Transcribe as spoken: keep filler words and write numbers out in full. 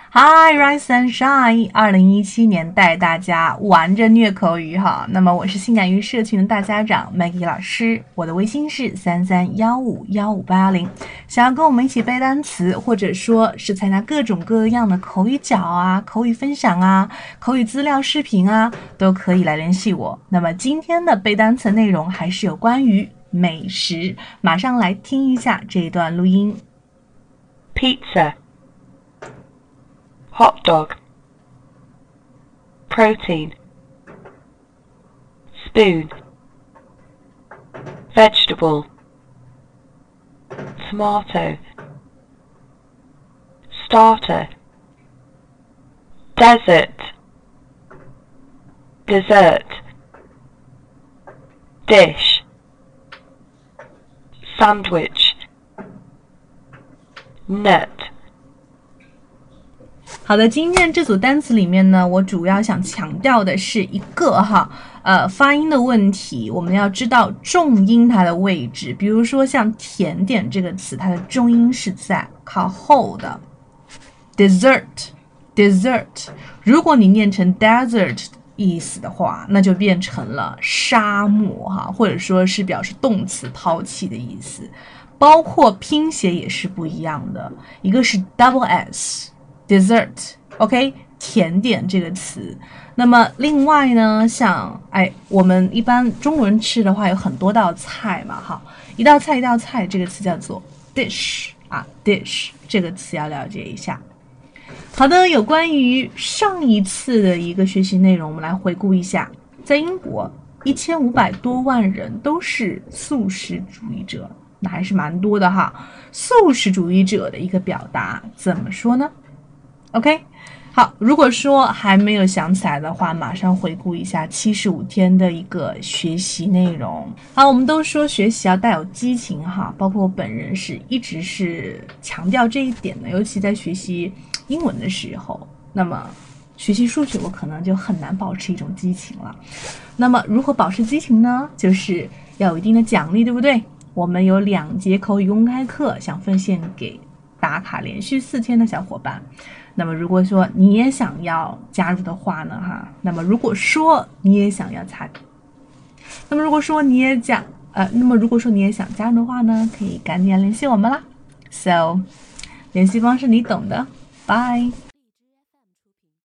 Hi, Rise and Shine！ 二零一七年带大家玩着虐口语哈。那么我是性感鱼社群的大家长 Maggie 老师，我的微信是三三幺五幺五八幺零。想要跟我们一起背单词，或者说是参加各种各样的口语角啊、口语分享啊、口语资料视频啊，都可以来联系我。那么今天的背单词内容还是有关于美食，马上来听一下这一段录音。 Pizza, hot dog, protein, spoon, vegetable, tomato, starter, desert, dessert, dish, sandwich, nut。 好的，今天这组单词里面呢，我主要想强调的是一个哈，呃，发音的问题，我们要知道重音它的位置。比如说像甜点这个词，它的重音是在靠后的 ，dessert dessert。如果你念成 desert 意思的话，那就变成了沙漠哈，或者说是表示动词抛弃的意思。包括拼写也是不一样的，一个是 double s。dessert，OK，、okay? 甜点这个词。那么另外呢，像哎，我们一般中国人吃的话，有很多道菜嘛，哈，一道菜一道菜，这个词叫做 dish 啊 ，dish 这个词要了解一下。好的，有关于上一次的一个学习内容，我们来回顾一下。在英国，一千五百多万人都是素食主义者，那还是蛮多的哈。素食主义者的一个表达怎么说呢？OK， 好，如果说还没有想起来的话，马上回顾一下七十五天的一个学习内容。好，我们都说学习要带有激情哈，包括我本人是一直是强调这一点的，尤其在学习英文的时候，那么学习数学我可能就很难保持一种激情了。那么如何保持激情呢？就是要有一定的奖励，对不对？我们有两节口语公开课想奉献给打卡连续四天的小伙伴。那么如果说你也想要加入的话呢，哈，那么如果说你也想要参，那么如果说你也想，呃，那么如果说你也想加入的话呢，可以赶紧联系我们啦。So， 联系方式你懂的，拜。